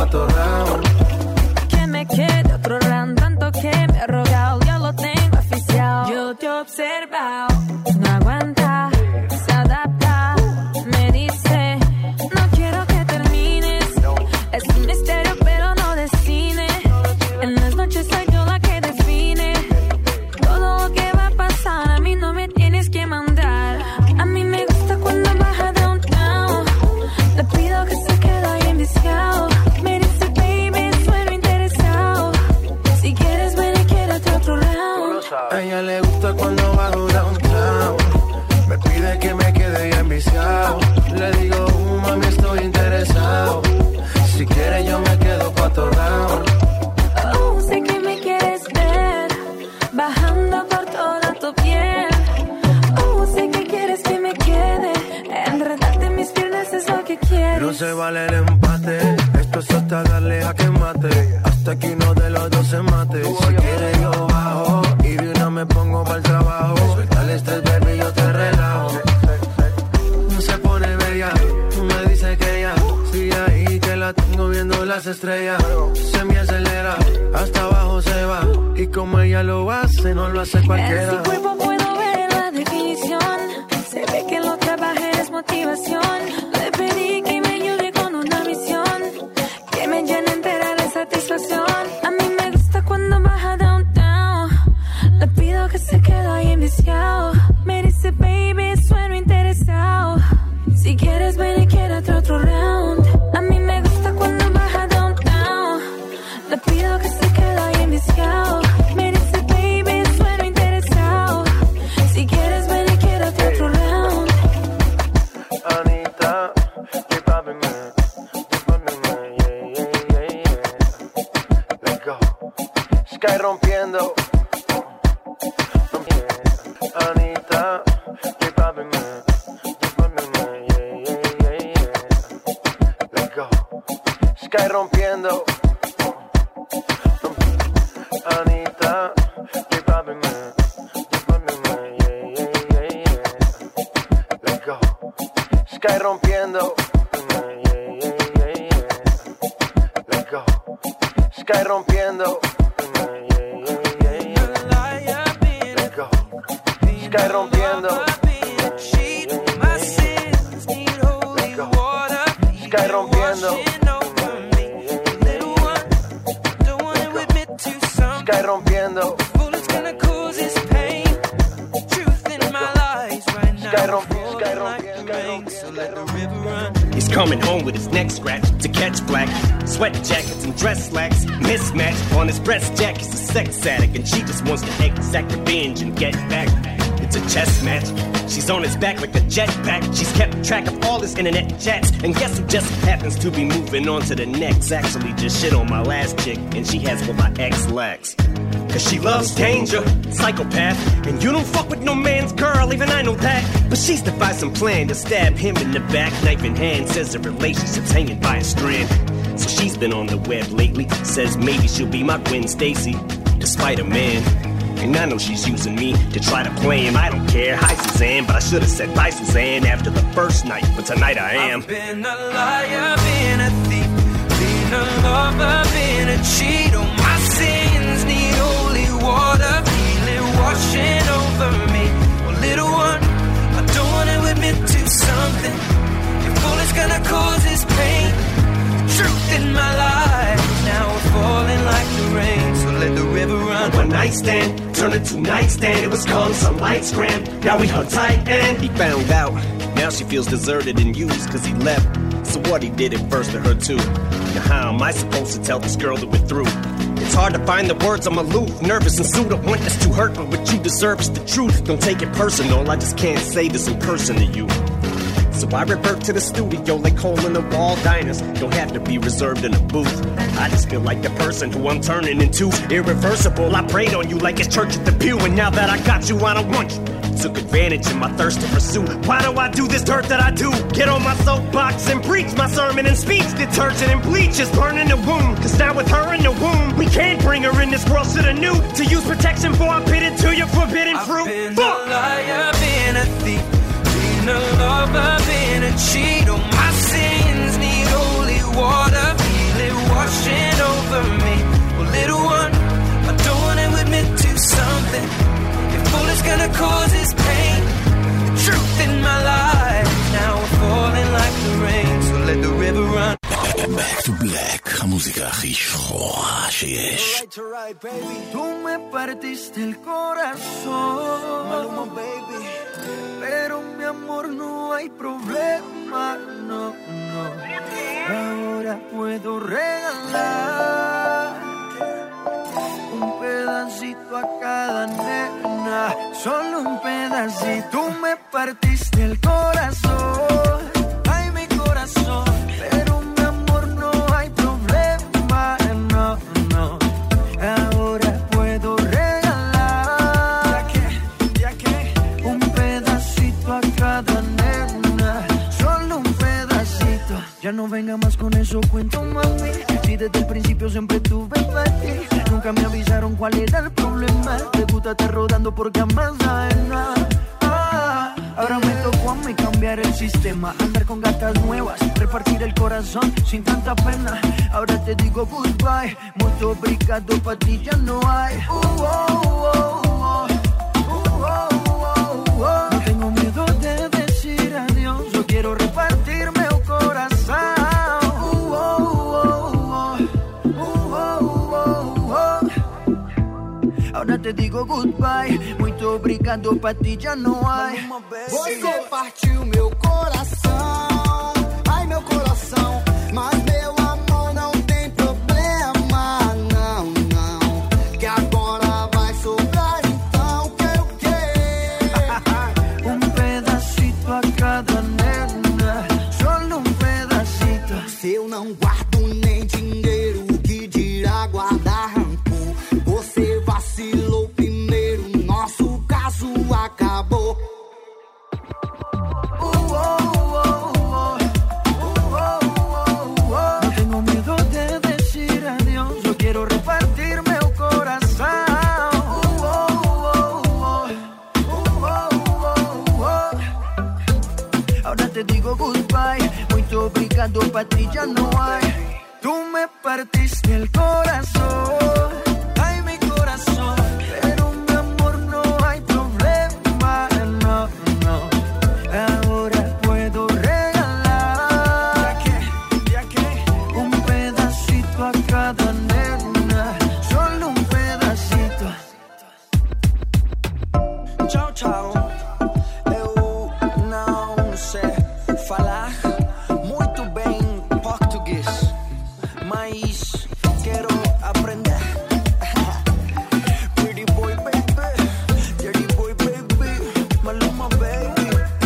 cuarto round. Que me quede otro round, tanto que me he rogado, ya lo tengo oficial. Yo te he observado, no aguanta, se adapta, me dice, no quiero que termines. Es un misterio pero no de cine. En las noches soy yo la que define todo lo que va a pasar. A mí no me tienes que mandar. A mí me gusta cuando baja downtown. Le pido que se quede ahí enviciado. Me dice baby, sueno interesado. Si quieres ven y quédate otro round. A ella le gusta cuando bajo downtown. Me pide que me quede ahí enviciado. Le digo, uh, mami, estoy interesado. Si quieres yo me quedo cuatro round. Oh, sé que me quieres ver bajando por toda tu piel. Oh, sé que quieres que me quede. Enredarte mis piernas es lo que quieres. No se vale el empate. Esto es hasta darle a que mate. Hasta que uno de los dos se mate. Si quieres yo bajo y de una me pongo para el trabajo. Suéltale este baby y yo te relajo. No se pone bella. Me dice que ya sigue ahí, que la tengo viendo las estrellas. Se me acelera, hasta abajo se va. Y como ella lo hace, no lo hace cualquiera. En su cuerpo puedo ver la definición. Se ve que lo trabaja es motivación. Le pedí que me ayude con una misión que me llene entera de satisfacción. A mí me gusta cuando baja downtown. Le pido que se quede ahí enviciado. Me dice baby, sueno interesado. Si quieres ven y quédate otro round. A mí me gusta cuando baja downtown. Le pido que se quede ahí enviciado. Me dice baby, sueno interesado. Si quieres ven y quédate otro round. Anita, keep popping me, keep popping me, yeah, yeah, yeah, yeah. Let's go. Sky rompiendo. Anita, keep popping me, keep popping me, yeah, yeah, yeah, yeah. Let's go. Sky rompiendo. Anita, keep popping me, keep popping me, yeah, yeah, yeah, yeah. Let's go. Sky rompiendo. Yeah, yeah, yeah, yeah. Let's go. Sky rompiendo. Yeah, yeah, yeah, yeah. Let's go. Sky rompiendo. Sky rompiendo. Sky rompiendo. Sky rompiendo. He's coming home with his neck scratched to catch black. Sweat jackets and dress slacks mismatched. On his breast jack, he's a sex addict, and she just wants to exact revenge and get back. It's a chess match. She's on his back like a jetpack. She's kept track of all his internet chats. And guess who just happens to be moving on to the next? Actually just shit on my last chick, and she has what my ex lacks. Cause she loves danger, psychopath. And you don't fuck with no man's girl, even I know that. But she's devised some plan to stab him in the back, knife in hand. Says the relationship's hanging by a strand. So she's been on the web lately. Says maybe she'll be my Gwen Stacy, despite a man. And I know she's using me to try to play him. I don't care. Hi, Suzanne, but I should have said bye, Suzanne, after the first night. But tonight I am. I've been a liar, been a thief, been a lover, been a cheat. Oh, my sins need holy water, feel it washing over me. Well, little one, I don't want to admit to something. If all it's gonna cause is pain, truth in my life, now we're falling like the rain. So let the river run. One night stand turned into nightstand. It was calm, some lights crammed. Now we hung tight and he found out. Now she feels deserted and used cause he left. So what, he did it first to her too. Now how am I supposed to tell this girl that we're through? It's hard to find the words, I'm aloof, nervous and sued. I want this to hurt, but what you deserve is the truth. Don't take it personal, I just can't say this in person to you. So I revert to the studio like hole in the wall diners. Don't have to be reserved in a booth. I just feel like the person who I'm turning into. Irreversible, I prayed on you like it's church at the pew. And now that I got you, I don't want you. Took advantage of my thirst to pursue. Why do I do this dirt that I do? Get on my soapbox and preach my sermon and speech. Detergent and bleach is burning the wound. Cause now with her in the womb, we can't bring her in this world to the new. To use protection for I'm pitted to your forbidden fruit. I've been Fuck. a liar, been a thief, been a lover, been a cheat. Oh, my sins need holy water, feel it wash to black, המוזיקה הכי שחורה שיש. Tú me partiste el corazón, Maluma, baby. Pero mi amor no hay problema, no, no. Ahora puedo regalar un pedacito a cada nena, solo un pedacito. Tú me partiste el corazón, ay mi corazón. Pero mi amor no hay problema, no, no. Ahora puedo regalar ya que, ya que un pedacito a cada nena, solo un pedacito. Ya no venga más con eso, cuento mami. Si desde el principio siempre tuve para ti, nunca me avisaron cuál era el problema. Te gusta estar rodando por camas ajenas. Ah, ahora me tocó a mí cambiar el sistema, andar con gatas nuevas, repartir el corazón sin tanta pena. Ahora te digo goodbye, mucho obrigado, pa' ti ya no hay. Uh, oh, oh, oh. Uh, oh, oh, oh. No tengo miedo de decir adiós, yo quiero repartirme el corazón. Uh, oh, oh, oh. Uh, oh, oh, oh. Ahora te digo goodbye, muito obrigado, pra ti já não há. Você partiu meu coração, ai meu coração, mas meu amor não tem problema, não, não, que agora vai sobrar então que o quê? Um pedacito a cada nena, solo um pedacito. Se eu não guardo nem dinheiro, que dirá guardar rancor? Você vacilou primeiro, nosso caso acabou. No tengo miedo de decir adiós, yo quiero repartirme el corazón. Uh, oh, oh, oh. Uh, oh, oh, oh. Ahora te digo goodbye, muito obrigado, pa' ti ya no hay. Tú me partiste el corazón, ay mi corazón. Pero mi amor no hay problema, no, no. Ahora puedo regalar ya que, ya que un pedacito a cada nena, solo un pedacito. Tchau, tchau. Eu não sei falar muito bem português, mas quero aprender. Pretty boy, baby, dirty boy, baby, Maluma, baby.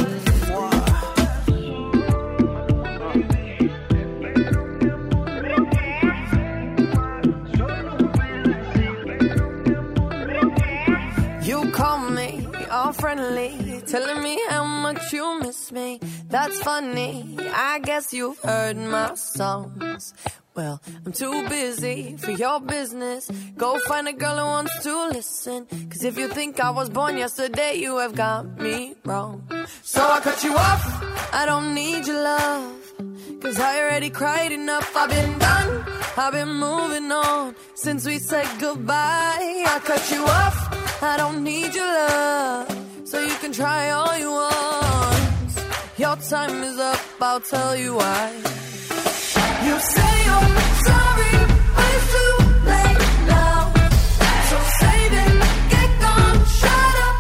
You call me all friendly, telling me how much you miss me. That's funny, I guess you've heard my songs. Well, I'm too busy for your business. Go find a girl who wants to listen. Cause if you think I was born yesterday, you have got me wrong. So I cut you off, I don't need your love. Cause I already cried enough, I've been done, I've been moving on since we said goodbye. I cut you off, I don't need your love, so you can try all you want. Your time is up, I'll tell you why. You say you're sorry, but it's too late now. So save it, get gone, shut up.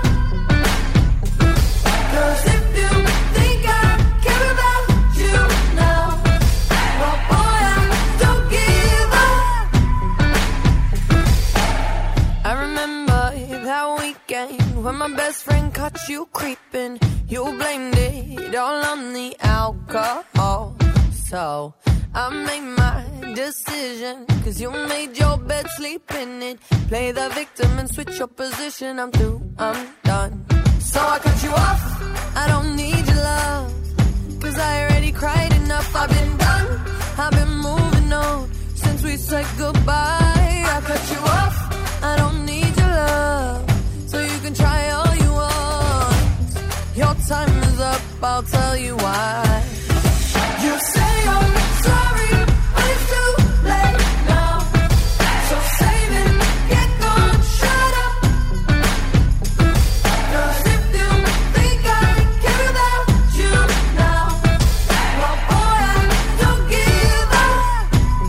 Cause if you think I care about you now, well boy, I don't give up. I remember that weekend when my best friend caught you creeping. You blamed it all on the alcohol. So I made my decision, cause you made your bed, sleep in it. Play the victim and switch your position. I'm through, I'm done. So I cut you off, I don't need your love, cause I already cried enough. I've been done, I've been moving on since we said goodbye. I cut you off, I don't need your love, so you can try all you want. Your time is up, I'll tell you why. You say you're sorry, but it's too late now. So save it, get gone, shut up. Cause if you think I care about you now, well boy, I don't give up.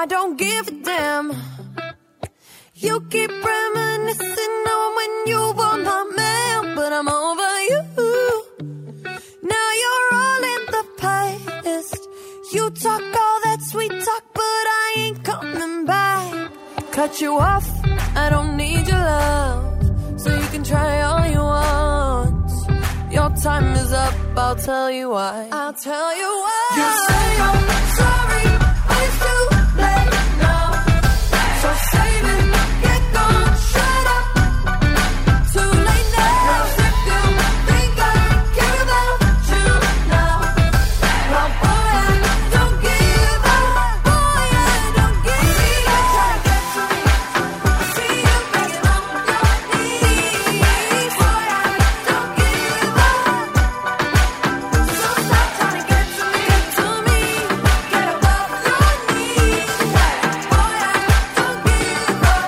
don't give a damn. You keep reminiscing on when you were my man, but I'm over you. Now you're all in the past. You talk all that sweet talk, but I ain't coming back. Cut you off, I don't need your love, so you can try all you want. Your time is up, I'll tell you why. I'll tell you why. You say I'm sorry, but it's too late now. So save it, get gone, shut up. Too late now. If you think I care about you now, well, boy, I don't give up. Boy, I don't give up. Try to get to me. I see you begging on your knees. Boy, I don't give up. So stop trying to get to me, get to me. Get above your knees. Boy, I don't give up.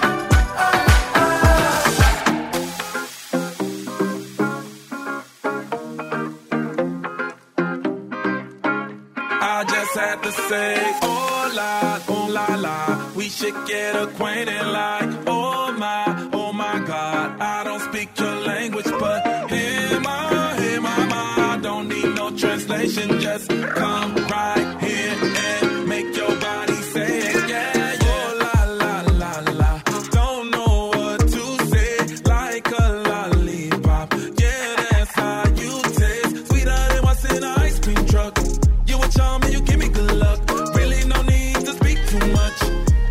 I just had to say, oh la, oh la la, we should get acquainted like, oh my, oh my God, I don't speak your language, but hey ma, hey mama, I don't need no translation, just come right here and make your body say it, yeah, yeah. Oh la la la la, don't know what to say, like a lollipop, yeah, that's how you taste, sweeter than what's in an ice cream truck. You a charm and you give me good luck. Really no need to speak too much.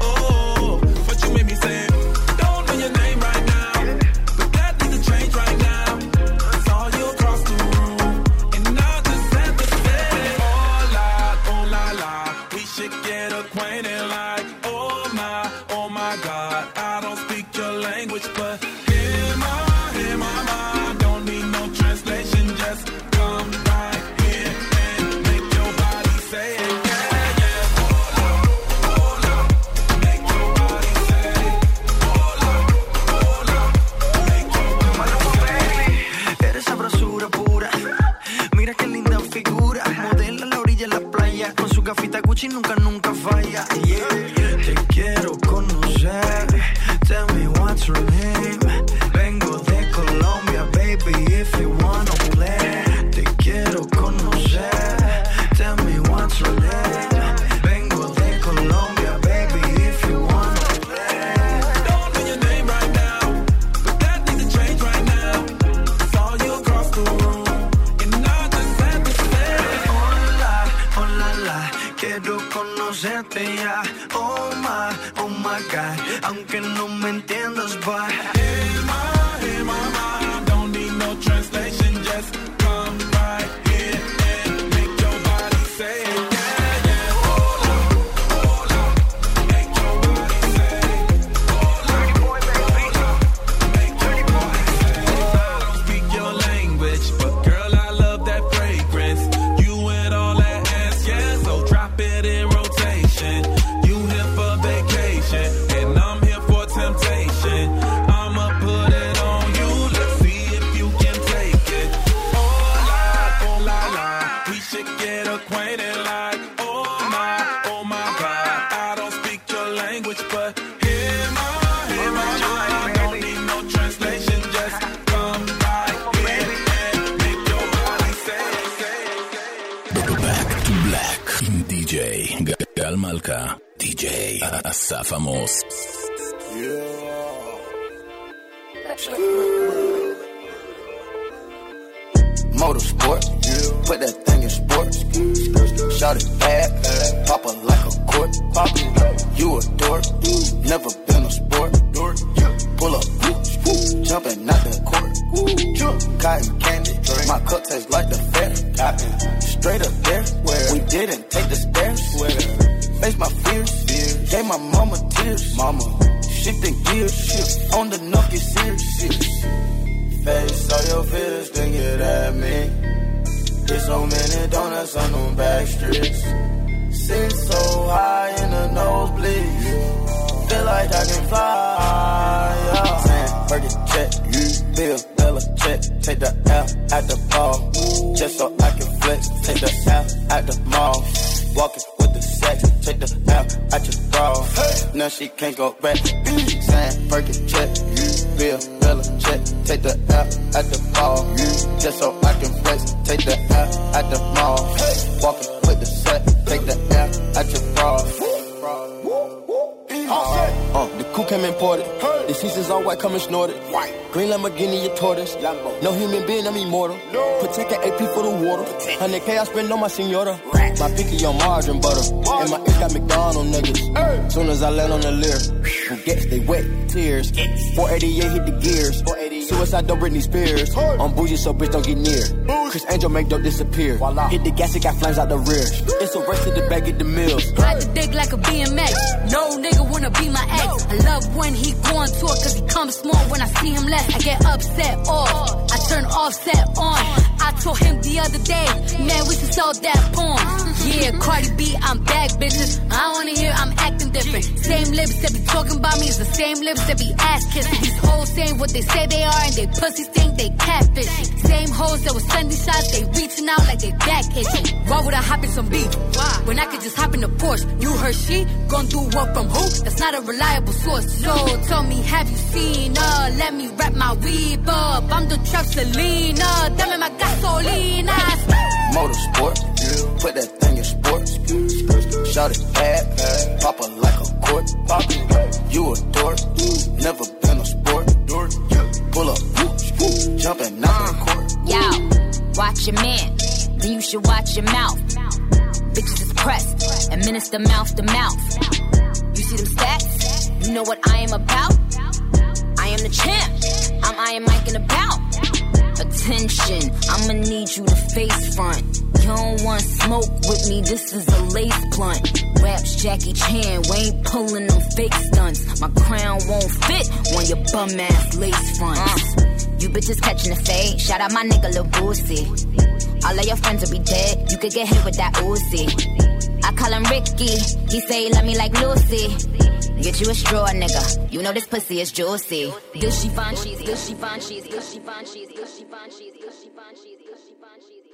Oh, but you made me say, don't know your name right now. But that needs to change right now. I saw you across the room, and I just had to say, oh la, oh la la, we should get acquainted like, oh my, oh my God, I don't speak your language, but hey ma, hey mama, I don't need no translation, just come right here and make your body say it, yeah, yeah. Hola, hola, make your body say it. Hola, hola, make your body say it. Eres sabrosura pura. Mira qué linda figura. Modela a la orilla de la playa. Con su gafita Gucci nunca, nunca falla. Yeah. Te quiero conocer. Tell me what's your name. Vengo de Colombia, baby, if you wanna play. Te quiero conocer. Tell me what's your name. Vengo de Colombia, baby, if you wanna play. Don't know your name right now, but that needs to change right now. Saw you across the room, and I just had to say, Hola, hola, la, quiero conocerte ya. Oh my, oh my God, aunque no me entiendas, bye. hey ma, hey mama, I don't need no translation, just come right here and make your body say it, yeah, yeah. Hola, hola, make your body say it. Hola, hola, make your body say it. I don't speak your language, but girl, I love that fragrance. You and all that ass, yeah, so drop it in rotation. You here for vacation, and I'm here for temptation. I'ma put it on you, let's see if you can take it. Oh la, oh la la, we should get acquainted like, oh my, oh my God, I don't speak your language, but hey ma, hey mama, I don't need no translation, just come right here and make your body say it, say it. Back to Black עם די-ג'יי גל מלכה, די-ג'יי אסף עמוס. Motorsport, put that thing in sports. Shout it bad, pop it like a court. You a dork, never been a sport. Pull up, jumping out the court. Cotton candy, my cup tastes like the fair. Straight up there, we didn't take the stairs. Face my fears, gave my mama tears. Mama, shifting gears, on the knuckle serious. Face all your fears, then get at me. Get so many donuts on them back streets. Sit so high in the nosebleeds. Feel like I can fly. Yeah. Saying, Fergie check, Bill, Bella check. Take the L at the ball, just so I can flex. Take the L at the mall. Walking with the sex. take the L out your bra. Now she can't go back. Sign Perkin check, Bill Bella check, take the L out the ball. Just so I can flex, take the L out the mall. Walking with the set, take the L out your bra. Uh, the coupe came imported. The seasons all white, coming snorted. White. Green Lamborghini, your tortoise. Lambo. No human being, I'm immortal. No. Protect an A P for the water. one hundred K I spend on my senora. Rats. My picky on margarine butter. Margin. And my ink got McDonald's niggas. Hey. Soon as I land on the lyre, who gets they wet tears. Yes. four eighty-eight hit the gears. Suicide don't Britney Spears. Hey. I'm bougie, so bitch don't get near. Bougie. Chris Angel make dope disappear. Voila. Hit the gas, it got flames out the rear. It's a race to the back at the mills. Ride the dick like a B M X. No nigga wanna be my ex. I love when he go on tour, cause he comes small when I see him less. I get upset off, I turn offset on. I told him the other day, man, we should sell that porn. Yeah, Cardi B, I'm back, bitches. I wanna hear I'm acting different. Same lips that be talking about me is the same lips that be ass kissing. These hoes saying what they say they are and they pussies think they catfish. Same hoes that was sending shots, they reaching out like they back itching. Why would I hop in some beef? Why? When I could just hop in the Porsche. You heard she gon' do what from who? That's not a reliable source. So tell me, have you seen her? Let me wrap my weave up. I'm the trap Selena. Dame my gasolina. Motorsport, put that thing in sports. Shout it bad, pop her like a court. You a dork, never been a sport. Pull up, jumping out the court. Yo, watch your man, then you should watch your mouth. Bitches is pressed, administer mouth to mouth. You see them stats? You know what I am about? I am the champ, I'm Iron Mike and about. Attention, I'ma need you to face front. You don't want smoke with me, this is a lace blunt. Raps Jackie Chan, we ain't pulling no fake stunts. My crown won't fit on your bum ass lace fronts. Uh, you bitches catching the fade, shout out my nigga Lil Boosie. All of your friends will be dead, you could get hit with that Uzi. I call him Ricky, he say he love me like Lucy. Get you a straw, nigga, you know this pussy is juicy. Good she fine, she's good she fine, she's good she fine, she's good she fine, she's good she fine, she's good she fine, she's